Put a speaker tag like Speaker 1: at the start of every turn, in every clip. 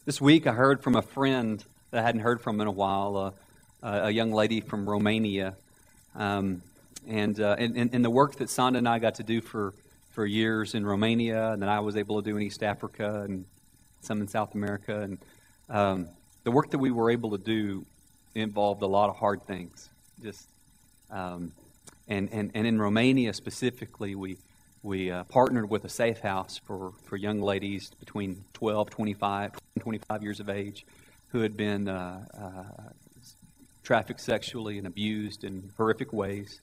Speaker 1: This week I heard from a friend that I hadn't heard from in a while, a young lady from Romania. And the work that Sonda and I got to do for years in Romania, and that I was able to do in East Africa and some in South America. And the work that we were able to do involved a lot of hard things. And in Romania specifically, we partnered with a safe house for young ladies between 25 years of age who had been trafficked sexually and abused in horrific ways.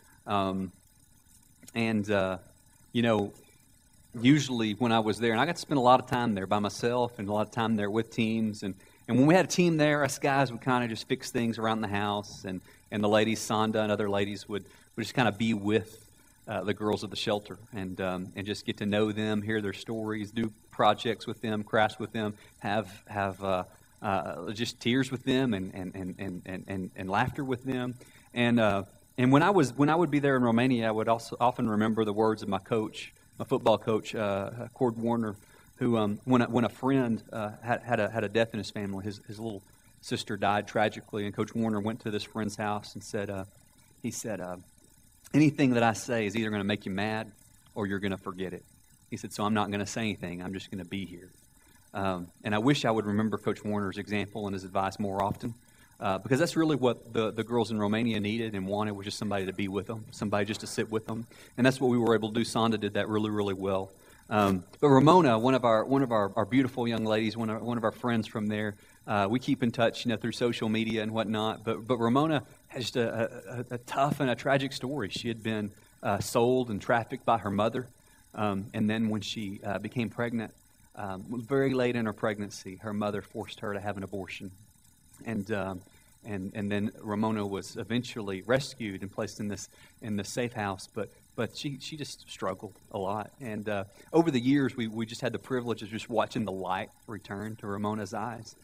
Speaker 1: Usually when I was there, and I got to spend a lot of time there by myself and a lot of time there with teams. And when we had a team there, us guys would kind of just fix things around the house. And the ladies, Sonda and other ladies, would just kind of be with the girls of the shelter and just get to know them, hear their stories, do projects with them, crafts with them, have just tears with them and laughter with them. And when I would be there in Romania, I would also often remember the words of my coach, my football coach, Cord Warner, who when a friend had a death in his family, his little sister died tragically, and Coach Warner went to this friend's house and said, anything that I say is either going to make you mad or you're going to forget it. He said, so I'm not going to say anything. I'm just going to be here. And I wish I would remember Coach Warner's example and his advice more often, because that's really what the girls in Romania needed and wanted, was just somebody to be with them, somebody just to sit with them. And that's what we were able to do. Sonda did that really, really well. But Ramona, one of our beautiful young ladies, one of our friends from there, we keep in touch, through social media and whatnot. But Ramona has just a tough and a tragic story. She had been sold and trafficked by her mother, and then when she became pregnant, very late in her pregnancy, her mother forced her to have an abortion, and then Ramona was eventually rescued and placed in this safe house, but she just struggled a lot. And over the years, we just had the privilege of just watching the light return to Ramona's eyes.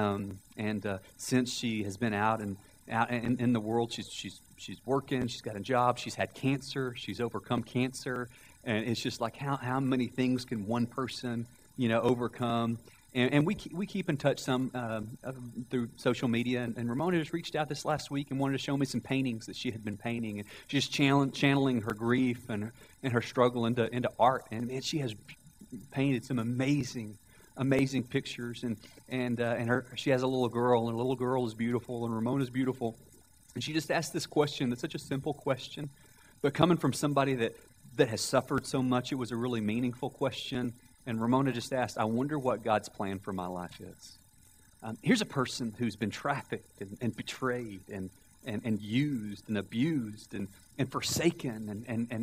Speaker 1: Since she has been out in the world, she's working, she's got a job, she's had cancer, she's overcome cancer, and it's just like how many things can one person overcome. And we keep in touch some through social media. And Ramona just reached out this last week and wanted to show me some paintings that she had been painting, and just channeling her grief and her struggle into art. And she has painted some amazing pictures. And she has a little girl, and the little girl is beautiful, and Ramona's beautiful. And she just asked this question. That's such a simple question, but coming from somebody that has suffered so much, it was a really meaningful question. And Ramona just asked, I wonder what God's plan for my life is. Here's a person who's been trafficked and betrayed and used and abused and forsaken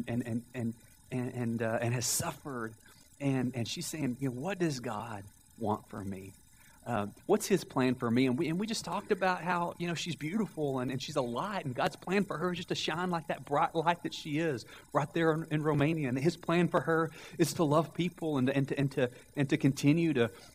Speaker 1: and has suffered. And she's saying, what does God want for me? What's His plan for me? And we just talked about how, she's beautiful and she's a light, and God's plan for her is just to shine like that bright light that she is right there in Romania. And His plan for her is to love people and to continue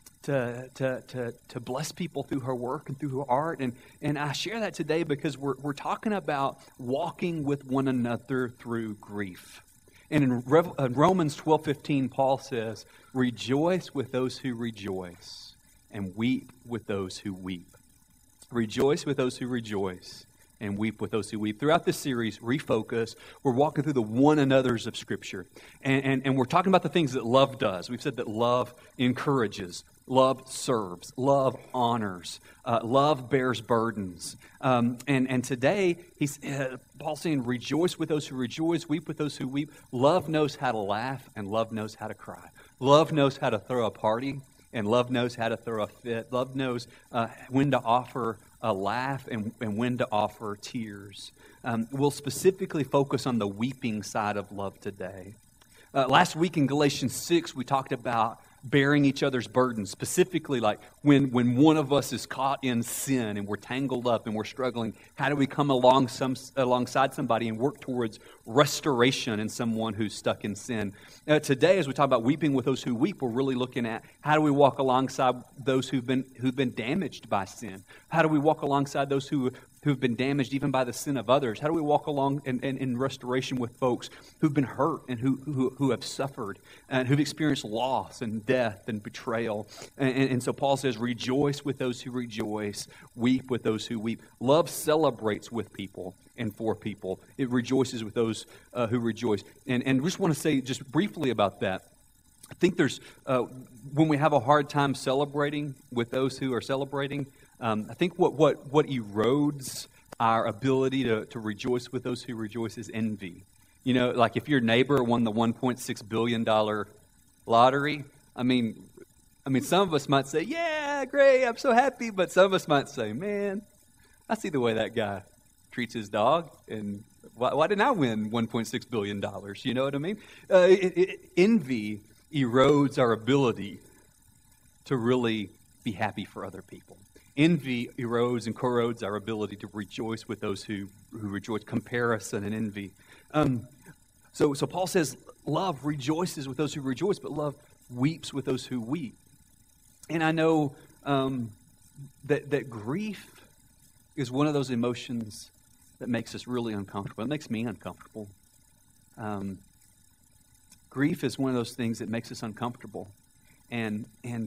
Speaker 1: to bless people through her work and through her art. And I share that today because we're talking about walking with one another through grief. And in Romans 12:15, Paul says, rejoice with those who rejoice, and weep with those who weep. Rejoice with those who rejoice, and weep with those who weep. Throughout this series, Refocus, we're walking through the one another's of Scripture. And we're talking about the things that love does. We've said that love encourages, love serves, love honors, love bears burdens. And today, Paul's saying, rejoice with those who rejoice, weep with those who weep. Love knows how to laugh, and love knows how to cry. Love knows how to throw a party, and love knows how to throw a fit. Love knows when to offer a laugh and when to offer tears. We'll specifically focus on the weeping side of love today. Last week in Galatians 6, we talked about bearing each other's burdens, specifically like when one of us is caught in sin and we're tangled up and we're struggling, how do we come alongside somebody and work towards restoration in someone who's stuck in sin? Today, as we talk about weeping with those who weep, we're really looking at how do we walk alongside those who've been damaged by sin? How do we walk alongside those who who've been damaged even by the sin of others? How do we walk along in restoration with folks who've been hurt and who have suffered and who've experienced loss and death and betrayal? And so Paul says, rejoice with those who rejoice, weep with those who weep. Love celebrates with people and for people. It rejoices with those who rejoice. And we just want to say just briefly about that. I think there's, when we have a hard time celebrating with those who are celebrating, I think what erodes our ability to rejoice with those who rejoice is envy. You know, like if your neighbor won the $1.6 billion lottery, I mean, some of us might say, yeah, great, I'm so happy. But some of us might say, man, I see the way that guy treats his dog, and why didn't I win $1.6 billion? You know what I mean? Envy erodes our ability to really be happy for other people. Envy erodes and corrodes our ability to rejoice with those who rejoice. Comparison and envy. So Paul says, love rejoices with those who rejoice, but love weeps with those who weep. And I know that grief is one of those emotions that makes us really uncomfortable. It makes me uncomfortable. Grief is one of those things that makes us uncomfortable. And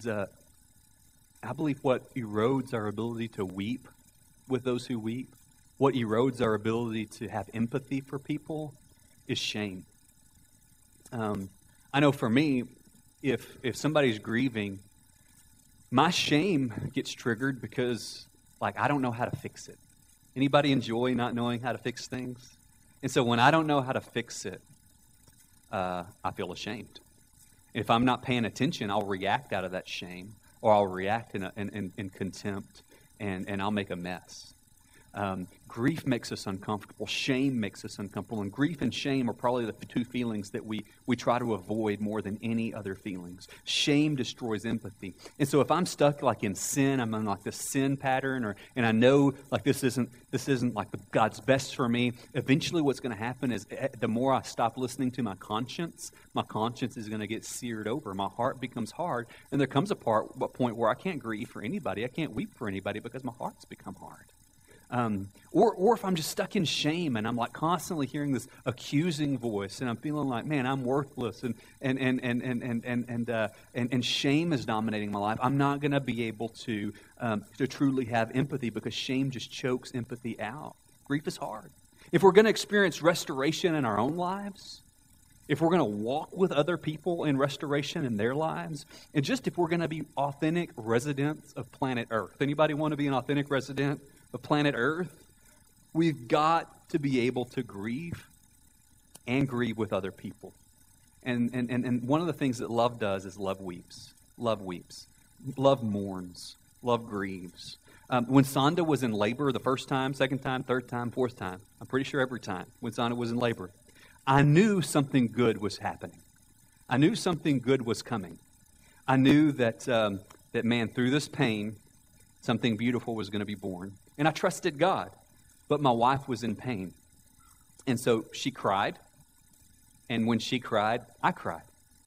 Speaker 1: I believe what erodes our ability to weep with those who weep, what erodes our ability to have empathy for people, is shame. I know for me, if somebody's grieving, my shame gets triggered because, like, I don't know how to fix it. Anybody enjoy not knowing how to fix things? And so when I don't know how to fix it, I feel ashamed. If I'm not paying attention, I'll react out of that shame. Or I'll react in contempt, and I'll make a mess. Grief makes us uncomfortable. Shame makes us uncomfortable. And grief and shame are probably the two feelings that we try to avoid more than any other feelings. Shame destroys empathy. And so if I'm stuck like in sin, I'm in like this sin pattern, and I know like this isn't like God's best for me, eventually what's going to happen is the more I stop listening to my conscience is going to get seared over. My heart becomes hard, and there comes a point where I can't grieve for anybody. I can't weep for anybody because my heart's become hard. Or if I'm just stuck in shame and I'm like constantly hearing this accusing voice and I'm feeling like, man, I'm worthless and shame is dominating my life, I'm not going to be able to truly have empathy because shame just chokes empathy out. Grief is hard. If we're going to experience restoration in our own lives, if we're going to walk with other people in restoration in their lives, and just if we're going to be authentic residents of planet Earth. Anybody want to be an authentic resident of planet Earth? We've got to be able to grieve and grieve with other people. And one of the things that love does is love weeps. Love weeps. Love mourns. Love grieves. When Sonda was in labor the first time, second time, third time, fourth time, I'm pretty sure every time when Sonda was in labor, I knew something good was happening. I knew something good was coming. I knew that, man, through this pain, something beautiful was going to be born. And I trusted God. But my wife was in pain. And so she cried. And when she cried, I cried.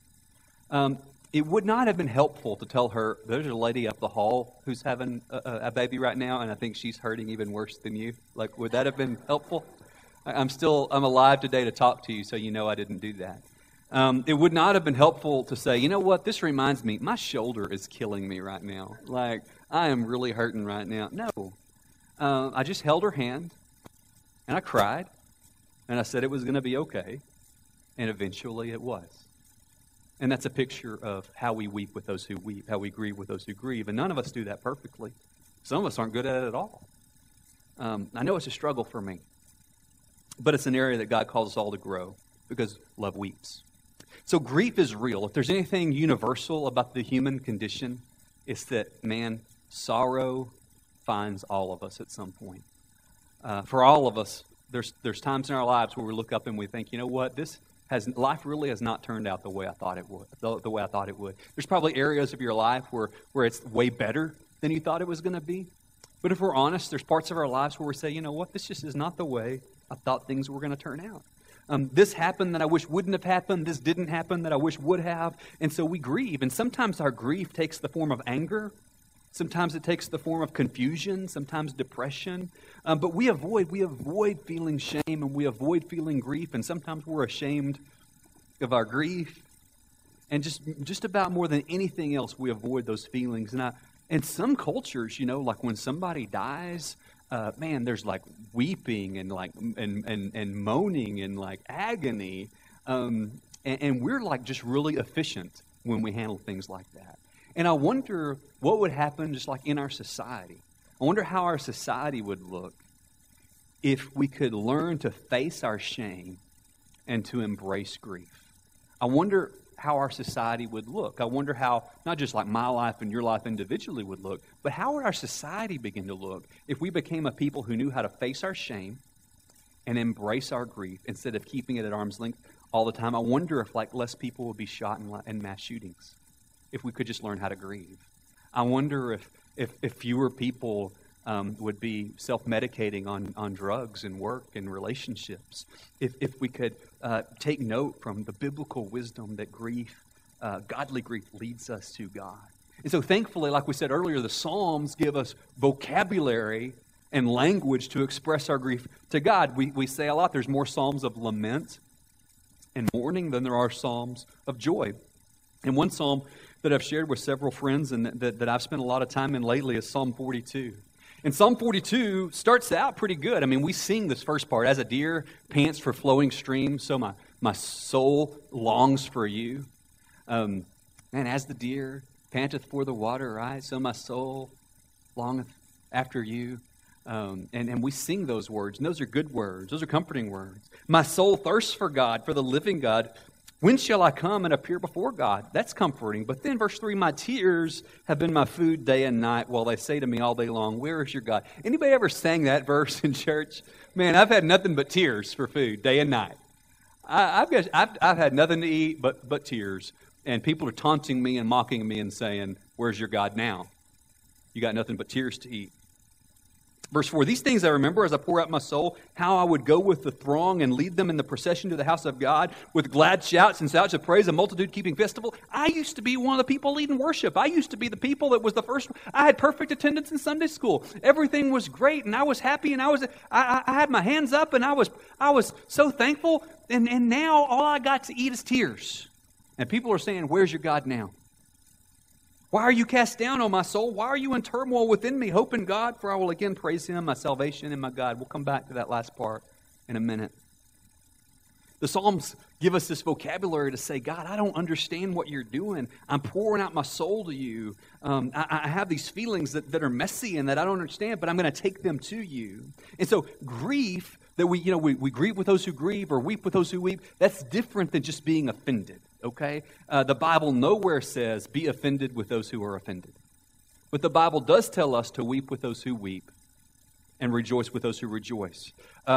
Speaker 1: It would not have been helpful to tell her, there's a lady up the hall who's having a baby right now, and I think she's hurting even worse than you. Like, would that have been helpful? I'm alive today to talk to you, so you know I didn't do that. It would not have been helpful to say, you know what, this reminds me, my shoulder is killing me right now. Like, I am really hurting right now. No. I just held her hand, and I cried, and I said it was going to be okay, and eventually it was. And that's a picture of how we weep with those who weep, how we grieve with those who grieve, and none of us do that perfectly. Some of us aren't good at it at all. I know it's a struggle for me, but it's an area that God calls us all to grow, because love weeps. So grief is real. If there's anything universal about the human condition, it's that, man, sorrow finds all of us at some point. For all of us, there's times in our lives where we look up and we think, you know what, life really has not turned out the way I thought it would. There's probably areas of your life where it's way better than you thought it was going to be. But if we're honest, there's parts of our lives where we say, you know what, this just is not the way I thought things were going to turn out. This happened that I wish wouldn't have happened. This didn't happen that I wish would have. And so we grieve. And sometimes our grief takes the form of anger. Sometimes it takes the form of confusion, sometimes depression. But we avoid feeling shame, and we avoid feeling grief, and sometimes we're ashamed of our grief. And just about more than anything else, we avoid those feelings. And in some cultures, like when somebody dies, there's like weeping and like and moaning and like agony, and we're like just really efficient when we handle things like that. And I wonder what would happen just like in our society. I wonder how our society would look if we could learn to face our shame and to embrace grief. I wonder how our society would look. I wonder how, not just like my life and your life individually would look, but how would our society begin to look if we became a people who knew how to face our shame and embrace our grief instead of keeping it at arm's length all the time. I wonder if like less people would be shot in mass shootings if we could just learn how to grieve. I wonder if fewer people would be self-medicating on drugs and work and relationships. If we could take note from the biblical wisdom that grief, godly grief, leads us to God. And so thankfully, like we said earlier, the Psalms give us vocabulary and language to express our grief to God. We say a lot, there's more Psalms of lament and mourning than there are Psalms of joy. And one Psalm that I've shared with several friends and that I've spent a lot of time in lately is Psalm 42. And Psalm 42 starts out pretty good. I mean, we sing this first part, as a deer pants for flowing streams, so my soul longs for you. And as the deer panteth for the water, right, so my soul longeth after you. And we sing those words, and those are good words. Those are comforting words. My soul thirsts for God, for the living God. When shall I come and appear before God? That's comforting. But then verse 3, my tears have been my food day and night, while they say to me all day long, where is your God? Anybody ever sang that verse in church? Man, I've had nothing but tears for food day and night. I've had nothing to eat but tears. And people are taunting me and mocking me and saying, where's your God now? You got nothing but tears to eat. Verse 4, these things I remember as I pour out my soul, how I would go with the throng and lead them in the procession to the house of God with glad shouts and shouts of praise, a multitude keeping festival. I used to be one of the people leading worship. I used to be the people that was the first. I had perfect attendance in Sunday school. Everything was great, and I was happy, and I had my hands up, and I was so thankful. And now all I got to eat is tears. And people are saying, where's your God now? Why are you cast down, O my soul? Why are you in turmoil within me? Hope in God, for I will again praise Him, my salvation and my God. We'll come back to that last part in a minute. The Psalms give us this vocabulary to say, God, I don't understand what you're doing. I'm pouring out my soul to you. I have these feelings that are messy and that I don't understand, but I'm going to take them to you. And so grief, that we grieve with those who grieve or weep with those who weep, that's different than just being offended. Okay? The Bible nowhere says, be offended with those who are offended. But the Bible does tell us to weep with those who weep and rejoice with those who rejoice.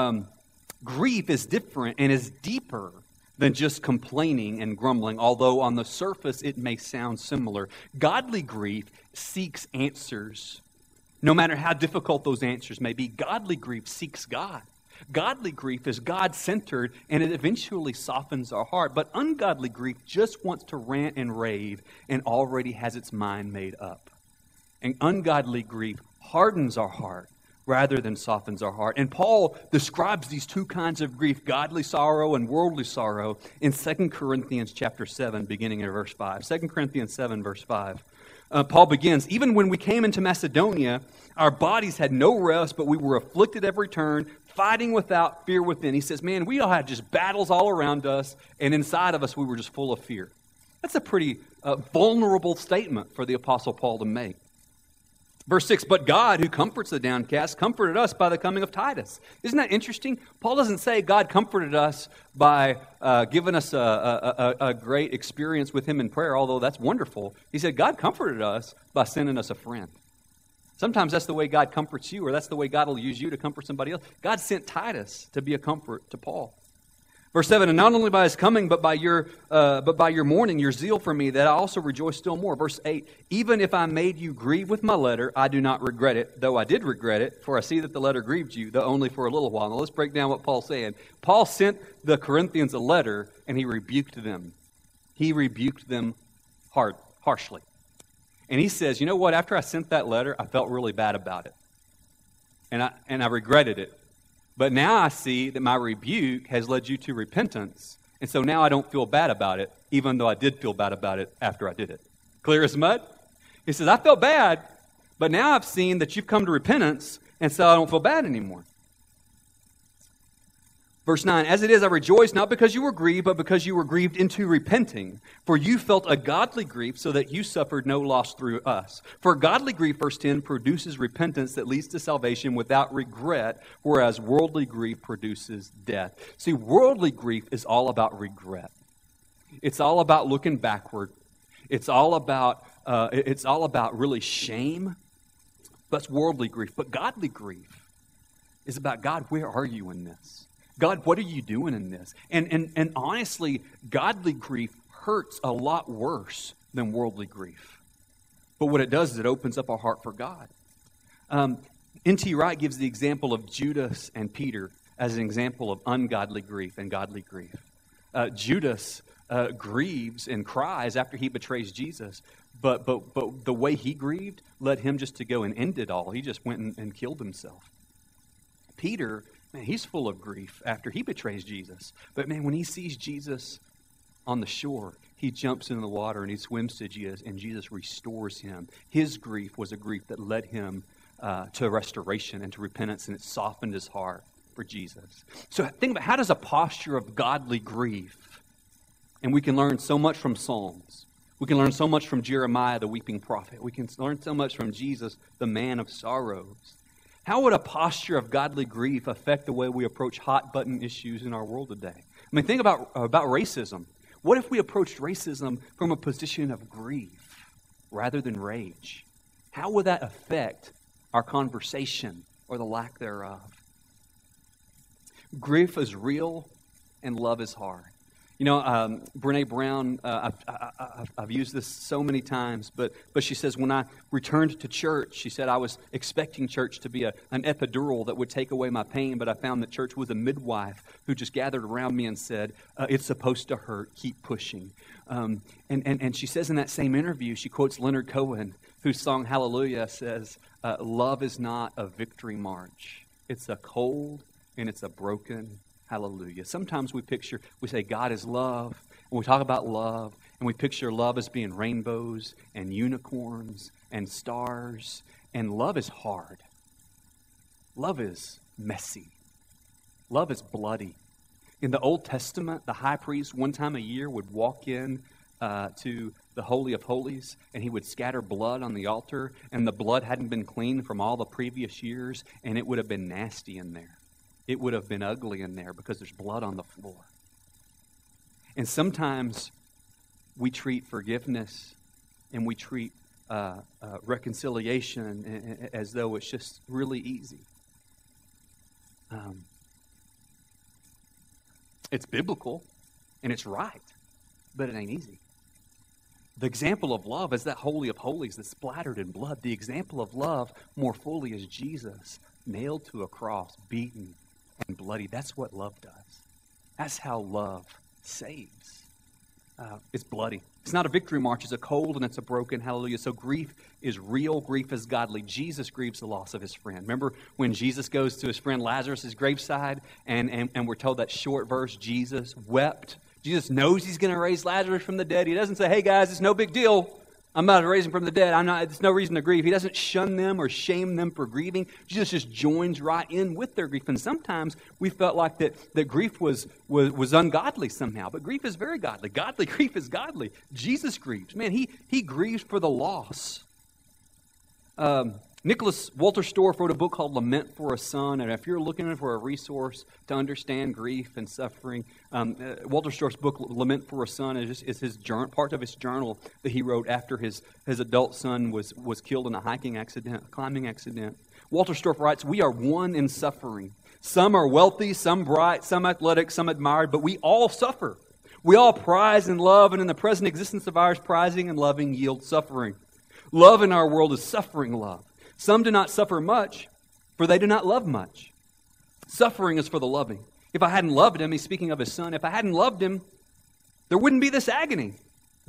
Speaker 1: Grief is different and is deeper than just complaining and grumbling, although on the surface it may sound similar. Godly grief seeks answers. No matter how difficult those answers may be, godly grief seeks God. Godly grief is God-centered, and it eventually softens our heart. But ungodly grief just wants to rant and rave and already has its mind made up. And ungodly grief hardens our heart rather than softens our heart. And Paul describes these two kinds of grief, godly sorrow and worldly sorrow, in 2 Corinthians chapter 7, beginning in verse 5. 2 Corinthians 7, verse 5. Paul begins, even when we came into Macedonia, our bodies had no rest, but we were afflicted every turn, fighting without, fear within. He says, man, we all had just battles all around us, and inside of us we were just full of fear. That's a pretty vulnerable statement for the Apostle Paul to make. Verse 6, but God, who comforts the downcast, comforted us by the coming of Titus. Isn't that interesting? Paul doesn't say God comforted us by giving us a great experience with Him in prayer, although that's wonderful. He said God comforted us by sending us a friend. Sometimes that's the way God comforts you, or that's the way God will use you to comfort somebody else. God sent Titus to be a comfort to Paul. Verse 7, and not only by his coming, but by your mourning, your zeal for me, that I also rejoice still more. Verse 8, even if I made you grieve with my letter, I do not regret it, though I did regret it, for I see that the letter grieved you, though only for a little while. Now let's break down what Paul's saying. Paul sent the Corinthians a letter, and he rebuked them. He rebuked them harshly. And he says, you know what? After I sent that letter, I felt really bad about it. And I regretted it. But now I see that my rebuke has led you to repentance. And so now I don't feel bad about it, even though I did feel bad about it after I did it. Clear as mud? He says, I felt bad, but now I've seen that you've come to repentance, and so I don't feel bad anymore. Verse 9, as it is, I rejoice not because you were grieved, but because you were grieved into repenting. For you felt a godly grief, so that you suffered no loss through us. For godly grief, verse 10, produces repentance that leads to salvation without regret, whereas worldly grief produces death. See, worldly grief is all about regret. It's all about looking backward. It's all about really shame. That's worldly grief. But godly grief is about, God, where are you in this? God, what are you doing in this? And honestly, godly grief hurts a lot worse than worldly grief. But what it does is it opens up our heart for God. N.T. Wright gives the example of Judas and Peter as an example of ungodly grief and godly grief. Judas grieves and cries after he betrays Jesus, but the way he grieved led him just to go and end it all. He just went and killed himself. Peter, man, he's full of grief after he betrays Jesus. But man, when he sees Jesus on the shore, he jumps into the water and he swims to Jesus, and Jesus restores him. His grief was a grief that led him to restoration and to repentance, and it softened his heart for Jesus. So think about, how does a posture of godly grief, and we can learn so much from Psalms. We can learn so much from Jeremiah, the weeping prophet. We can learn so much from Jesus, the man of sorrows. How would a posture of godly grief affect the way we approach hot-button issues in our world today? I mean, think about racism. What if we approached racism from a position of grief rather than rage? How would that affect our conversation or the lack thereof? Grief is real and love is hard. You know, Brene Brown, I've used this so many times, but she says, when I returned to church, she said, I was expecting church to be an epidural that would take away my pain, but I found that church was a midwife who just gathered around me and said, it's supposed to hurt, keep pushing. And she says in that same interview, she quotes Leonard Cohen, whose song Hallelujah says, love is not a victory march. It's a cold and it's a broken hallelujah. Sometimes we say God is love, and we talk about love, and we picture love as being rainbows and unicorns and stars, and love is hard. Love is messy. Love is bloody. In the Old Testament, the high priest one time a year would walk in to the Holy of Holies, and he would scatter blood on the altar, and the blood hadn't been cleaned from all the previous years, and it would have been nasty in there. It would have been ugly in there because there's blood on the floor. And sometimes we treat forgiveness and we treat reconciliation as though it's just really easy. It's biblical and it's right, but it ain't easy. The example of love is that Holy of Holies that's splattered in blood. The example of love more fully is Jesus, nailed to a cross, beaten and bloody. That's what love does. That's how love saves. It's bloody. It's not a victory march. It's a cold and it's a broken hallelujah. So grief is real. Grief is godly. Jesus grieves the loss of his friend. Remember when Jesus goes to his friend Lazarus' graveside and we're told that short verse, Jesus wept. Jesus knows he's going to raise Lazarus from the dead. He doesn't say, hey guys, it's no big deal. I'm about to raise him from the dead. There's no reason to grieve. He doesn't shun them or shame them for grieving. Jesus just joins right in with their grief. And sometimes we felt like that grief was ungodly somehow. But grief is very godly. Godly grief is godly. Jesus grieves. Man, he grieves for the loss. Nicholas Wolterstorff wrote a book called Lament for a Son, and if you're looking for a resource to understand grief and suffering, Wolterstorff's book Lament for a Son is his part of his journal that he wrote after his adult son was killed in a climbing accident. Wolterstorff writes, "We are one in suffering. Some are wealthy, some bright, some athletic, some admired, but we all suffer. We all prize and love, and in the present existence of ours, prizing and loving yield suffering. Love in our world is suffering love. Some do not suffer much, for they do not love much. Suffering is for the loving. If I hadn't loved him," he's speaking of his son, "if I hadn't loved him, there wouldn't be this agony.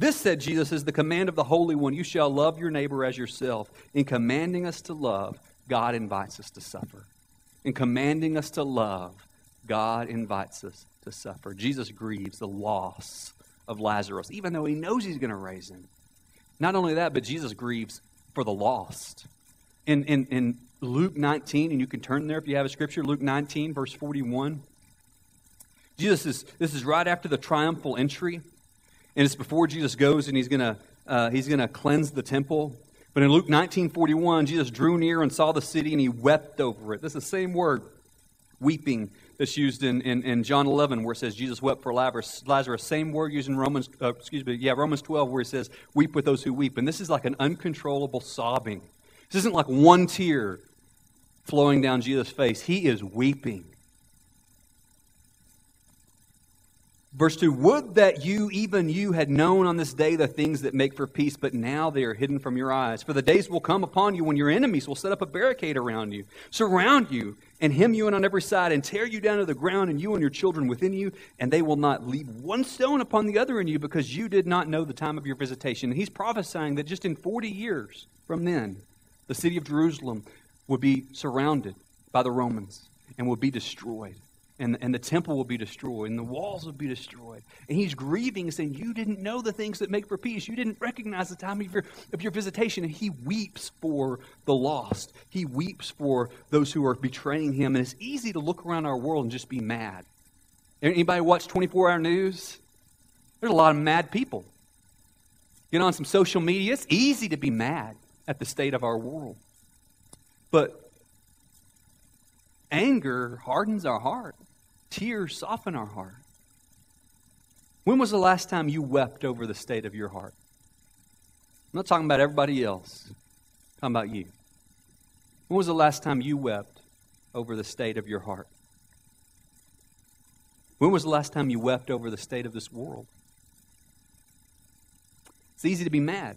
Speaker 1: This, said Jesus, is the command of the Holy One. You shall love your neighbor as yourself. In commanding us to love, God invites us to suffer. In commanding us to love, God invites us to suffer. Jesus grieves the loss of Lazarus, even though he knows he's going to raise him. Not only that, but Jesus grieves for the lost. In Luke 19, and you can turn there if you have a scripture, Luke 19, verse 41. This is right after the triumphal entry, and it's before Jesus goes and he's gonna cleanse the temple. But in Luke 19:41, Jesus drew near and saw the city, and he wept over it. This is the same word, weeping, that's used in John 11, where it says Jesus wept for Lazarus. Same word used in Romans 12, where it says, weep with those who weep. And this is like an uncontrollable sobbing. This isn't like one tear flowing down Jesus' face. He is weeping. Verse 2, would that you, even you, had known on this day the things that make for peace, but now they are hidden from your eyes. For the days will come upon you when your enemies will set up a barricade around you, surround you, and hem you in on every side, and tear you down to the ground, and you and your children within you, and they will not leave one stone upon the other in you, because you did not know the time of your visitation. And he's prophesying that just in 40 years from then, the city of Jerusalem would be surrounded by the Romans and would be destroyed. And the temple will be destroyed, and the walls will be destroyed. And he's grieving, saying, you didn't know the things that make for peace. You didn't recognize the time of your visitation. And he weeps for the lost. He weeps for those who are betraying him. And it's easy to look around our world and just be mad. Anybody watch 24-hour news? There's a lot of mad people. Get on some social media. It's easy to be mad at the state of our world. But anger hardens our heart. Tears soften our heart. When was the last time you wept over the state of your heart? I'm not talking about everybody else. I'm talking about you. When was the last time you wept over the state of your heart? When was the last time you wept over the state of this world? It's easy to be mad.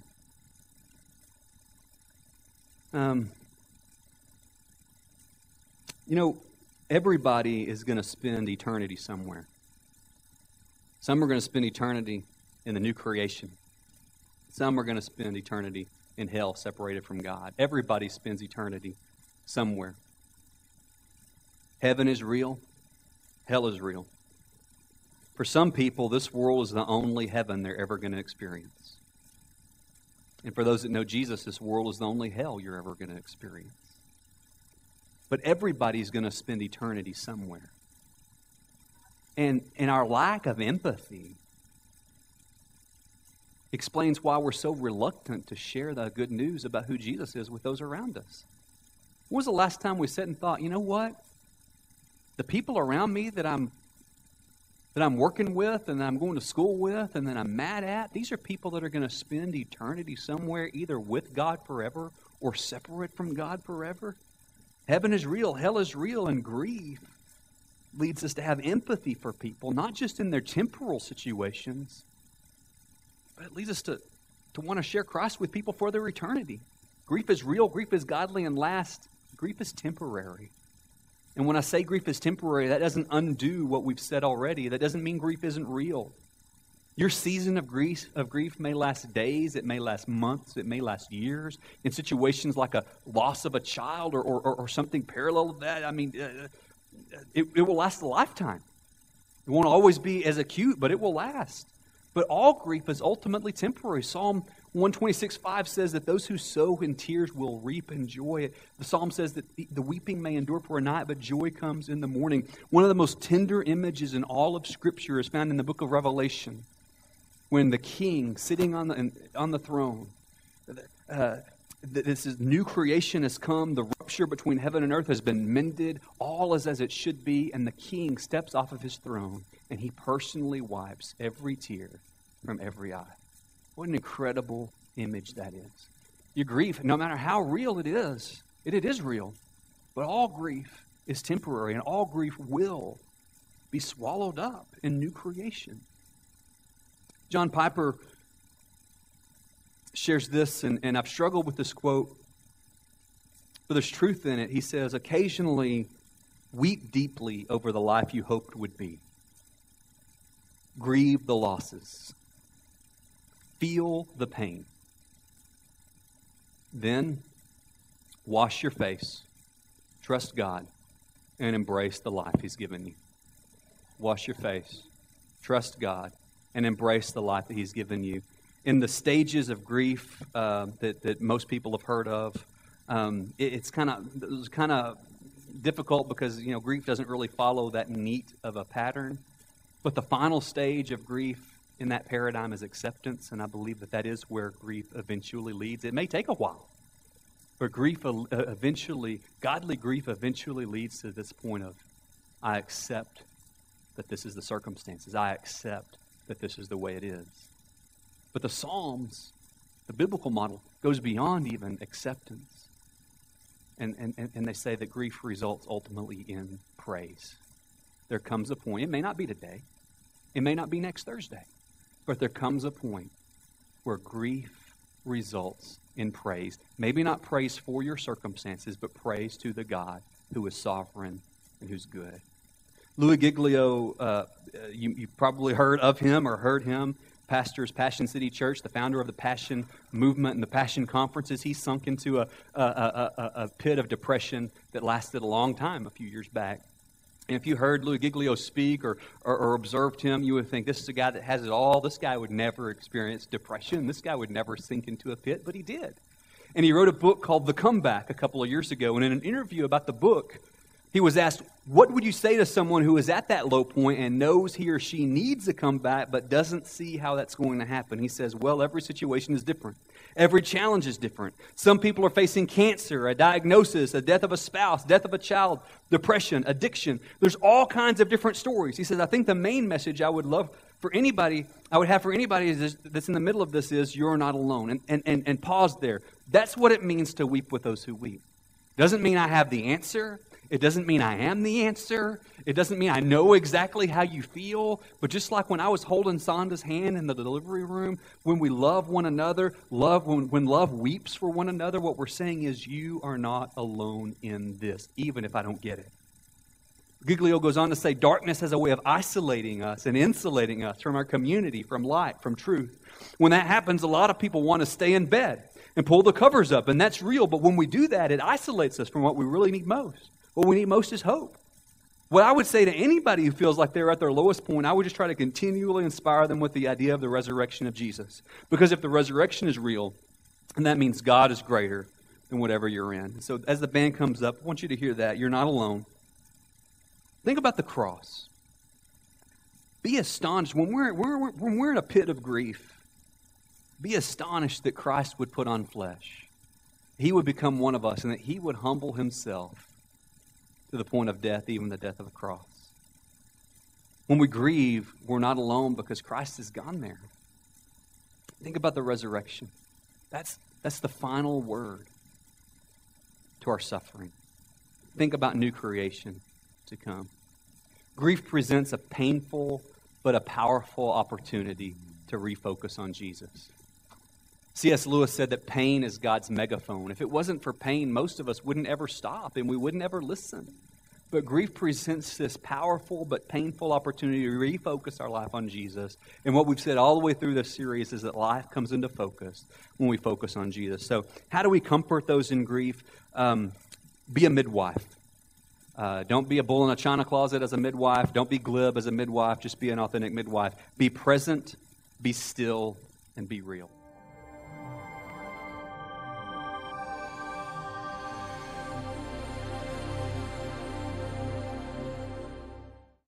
Speaker 1: Everybody is going to spend eternity somewhere. Some are going to spend eternity in the new creation. Some are going to spend eternity in hell, separated from God. Everybody spends eternity somewhere. Heaven is real. Hell is real. For some people, this world is the only heaven they're ever going to experience. And for those that know Jesus, this world is the only hell you're ever going to experience. But everybody's going to spend eternity somewhere. And our lack of empathy explains why we're so reluctant to share the good news about who Jesus is with those around us. When was the last time we sat and thought, you know what? The people around me that I'm working with and that I'm going to school with and that I'm mad at, these are people that are going to spend eternity somewhere, either with God forever or separate from God forever. Heaven is real, hell is real, and grief leads us to have empathy for people, not just in their temporal situations, but it leads us to want to share Christ with people for their eternity. Grief is real, grief is godly, and last, grief is temporary. And when I say grief is temporary, that doesn't undo what we've said already. That doesn't mean grief isn't real. Your season of grief may last days, it may last months, it may last years. In situations like a loss of a child or something parallel to that, it will last a lifetime. It won't always be as acute, but it will last. But all grief is ultimately temporary. Psalm 126:5 says that those who sow in tears will reap in joy. The psalm says that the weeping may endure for a night, but joy comes in the morning. One of the most tender images in all of Scripture is found in the book of Revelation, when the king sitting on the throne, this is new creation has come, the rupture between heaven and earth has been mended, all is as it should be, and the king steps off of his throne and he personally wipes every tear from every eye. What an incredible image that is. Your grief, no matter how real it is real, but all grief is temporary and all grief will be swallowed up in new creation. John Piper shares this, and I've struggled with this quote, but there's truth in it. He says, occasionally weep deeply over the life you hoped would be. Grieve the losses. Feel the pain. Then wash your face, trust God, and embrace the life He's given you. Wash your face, trust God, and embrace the life that He's given you. In the stages of grief that most people have heard of, it's kind of difficult because grief doesn't really follow that neat of a pattern. But the final stage of grief in that paradigm is acceptance, and I believe that is where grief eventually leads. It may take a while, but godly grief eventually leads to this point of, I accept that this is the circumstances. I accept that this is the way it is. But the Psalms, the biblical model, goes beyond even acceptance. And they say that grief results ultimately in praise. There comes a point, it may not be today, it may not be next Thursday, but there comes a point where grief results in praise. Maybe not praise for your circumstances, but praise to the God who is sovereign and who's good. Louis Giglio, you probably heard of him or heard him, pastors Passion City Church, the founder of the Passion Movement and the Passion Conferences. He sunk into a pit of depression that lasted a long time a few years back. And if you heard Louis Giglio speak or observed him, you would think, this is a guy that has it all. This guy would never experience depression. This guy would never sink into a pit, but he did. And he wrote a book called The Comeback a couple of years ago. And in an interview about the book, he was asked, what would you say to someone who is at that low point and knows he or she needs a comeback but doesn't see how that's going to happen? He says, well, every situation is different. Every challenge is different. Some people are facing cancer, a diagnosis, a death of a spouse, death of a child, depression, addiction. There's all kinds of different stories. He says, I think the main message I would have for anybody that's in the middle of this is you're not alone. And pause there. That's what it means to weep with those who weep. Doesn't mean I have the answer. It doesn't mean I am the answer. It doesn't mean I know exactly how you feel. But just like when I was holding Sonda's hand in the delivery room, when we love one another, when love weeps for one another, what we're saying is you are not alone in this, even if I don't get it. Giglio goes on to say, darkness has a way of isolating us and insulating us from our community, from light, from truth. When that happens, a lot of people want to stay in bed and pull the covers up, and that's real. But when we do that, it isolates us from what we really need most. What we need most is hope. What I would say to anybody who feels like they're at their lowest point, I would just try to continually inspire them with the idea of the resurrection of Jesus. Because if the resurrection is real, then that means God is greater than whatever you're in. So as the band comes up, I want you to hear that. You're not alone. Think about the cross. Be astonished. When we're in a pit of grief, be astonished that Christ would put on flesh. He would become one of us and that He would humble Himself to the point of death, even the death of a cross. When we grieve, we're not alone because Christ has gone there. Think about the resurrection. That's the final word to our suffering. Think about new creation to come. Grief presents a painful but a powerful opportunity to refocus on Jesus. C.S. Lewis said that pain is God's megaphone. If it wasn't for pain, most of us wouldn't ever stop and we wouldn't ever listen. But grief presents this powerful but painful opportunity to refocus our life on Jesus. And what we've said all the way through this series is that life comes into focus when we focus on Jesus. So how do we comfort those in grief? Be a midwife. Don't be a bull in a china closet as a midwife. Don't be glib as a midwife. Just be an authentic midwife. Be present, be still, and be real.